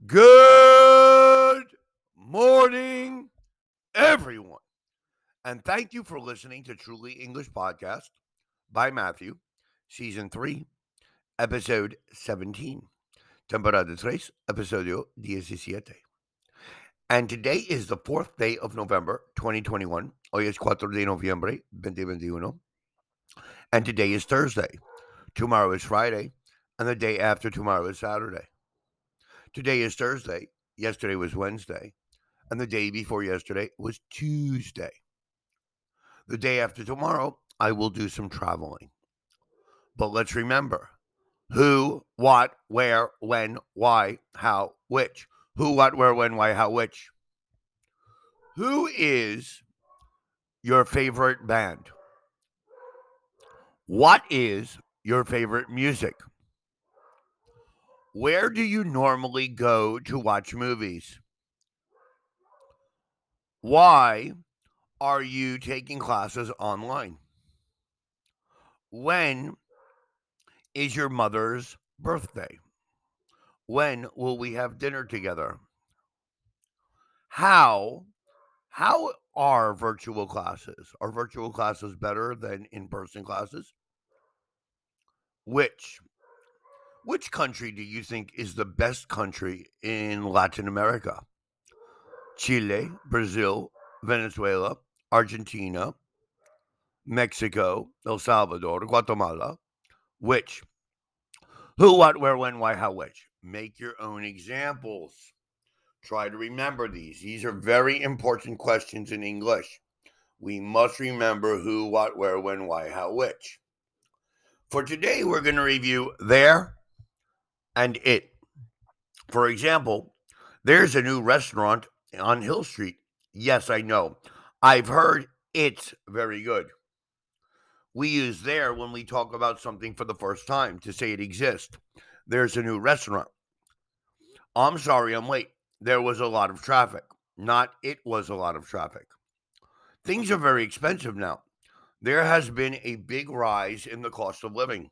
Good morning, everyone. And thank you for listening to Truly English Podcast by Matthew, Season 3, Episode 17. Temporada 3, Episodio 17. And today is the 4th day of November, 2021. Hoy es 4 de noviembre, 2021. And today is Thursday. Tomorrow is Friday. And the day after tomorrow is Saturday. Today is Thursday. Yesterday was Wednesday. And the day before yesterday was Tuesday. The day after tomorrow, I will do some traveling. But let's remember who, what, where, when, why, how, which. Who, what, where, when, why, how, which. Who is your favorite band? What is your favorite music? Where do you normally go to watch movies? Why are you taking classes online? When is your mother's birthday? When will we have dinner together? How are virtual classes? Are virtual classes better than in-person classes? Which country do you think is the best country in Latin America? Chile, Brazil, Venezuela, Argentina, Mexico, El Salvador, Guatemala. Which? Who, what, where, when, why, how, which? Make your own examples. Try to remember these. These are very important questions in English. We must remember who, what, where, when, why, how, which. For today, we're going to review there and it. For example, there's a new restaurant on Hill Street. Yes, I know. I've heard it's very good. We use there when we talk about something for the first time to say it exists. There's a new restaurant. I'm sorry I'm late. There was a lot of traffic. Not it was a lot of traffic. Things are very expensive now. There has been a big rise in the cost of living.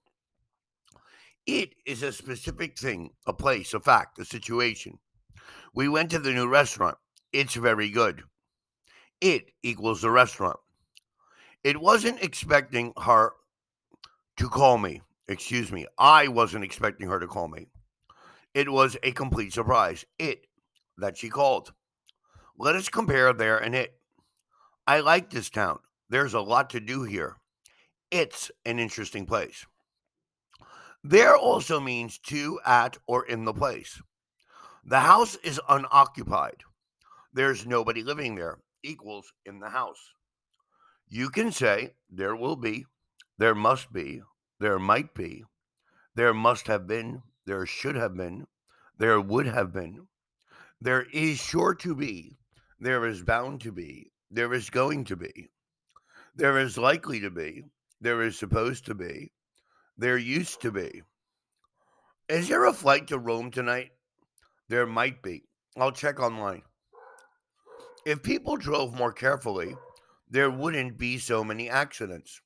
It is a specific thing, a place, a fact, a situation. We went to the new restaurant. It's very good. It equals the restaurant. It wasn't expecting her to call me. Excuse me. I wasn't expecting her to call me. It was a complete surprise. It that she called. Let us compare there and it. I like this town. There's a lot to do here. It's an interesting place. There also means to, at, or in the place. The house is unoccupied. There's nobody living there. Equals in the house. You can say there will be, there must be, there might be, there must have been, there should have been, there would have been, there is sure to be, there is bound to be, there is going to be, there is likely to be, there is supposed to be, there used to be. Is there a flight to Rome tonight? There might be. I'll check online. If people drove more carefully, there wouldn't be so many accidents.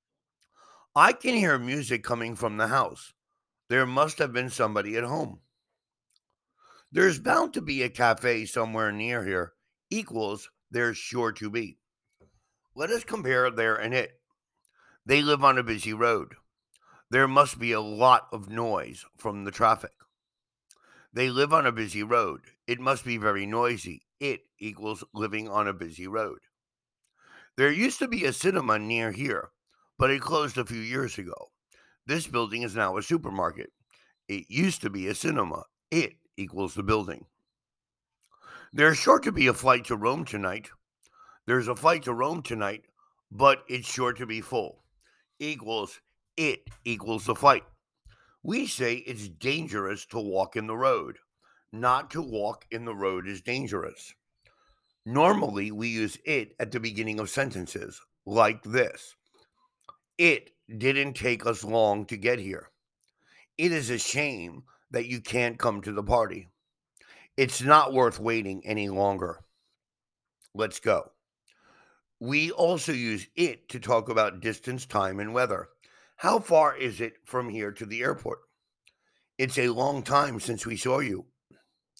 I can hear music coming from the house. There must have been somebody at home. There's bound to be a cafe somewhere near here. Equals there's sure to be. Let us compare there and it. They live on a busy road. There must be a lot of noise from the traffic. They live on a busy road. It must be very noisy. It equals living on a busy road. There used to be a cinema near here, but it closed a few years ago. This building is now a supermarket. It used to be a cinema. It equals the building. There's sure to be a flight to Rome tonight. There's a flight to Rome tonight, but it's sure to be full. Equals it equals the flight. We say it's dangerous to walk in the road. Not to walk in the road is dangerous. Normally, we use it at the beginning of sentences, like this. It didn't take us long to get here. It is a shame that you can't come to the party. It's not worth waiting any longer. Let's go. We also use it to talk about distance, time, and weather. How far is it from here to the airport? It's a long time since we saw you.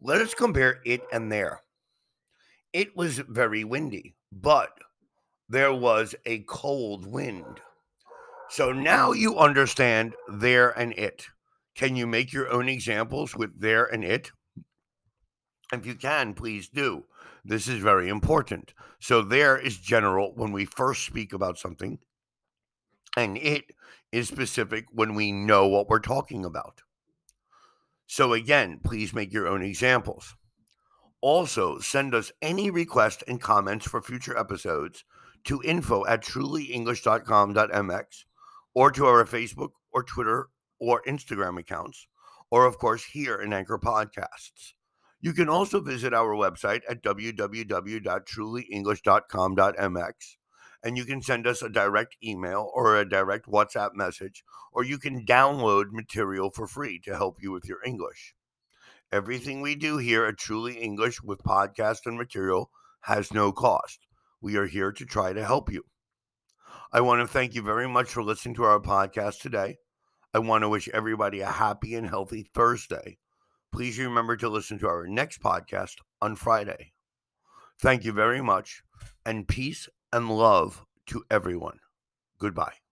Let us compare it and there. It was very windy, but there was a cold wind. So now you understand there and it. Can you make your own examples with there and it? If you can, please do. This is very important. So, there is general when we first speak about something, and it is specific when we know what we're talking about. So, again, please make your own examples. Also, send us any requests and comments for future episodes to info@trulyenglish.com.mx or to our Facebook or Twitter or Instagram accounts, or of course here in Anchor Podcasts. You can also visit our website at www.trulyenglish.com.mx, and you can send us a direct email or a direct WhatsApp message, or you can download material for free to help you with your English. Everything we do here at Truly English with podcast and material has no cost. We are here to try to help you. I want to thank you very much for listening to our podcast today. I want to wish everybody a happy and healthy Thursday. Please remember to listen to our next podcast on Friday. Thank you very much, and peace and love to everyone. Goodbye.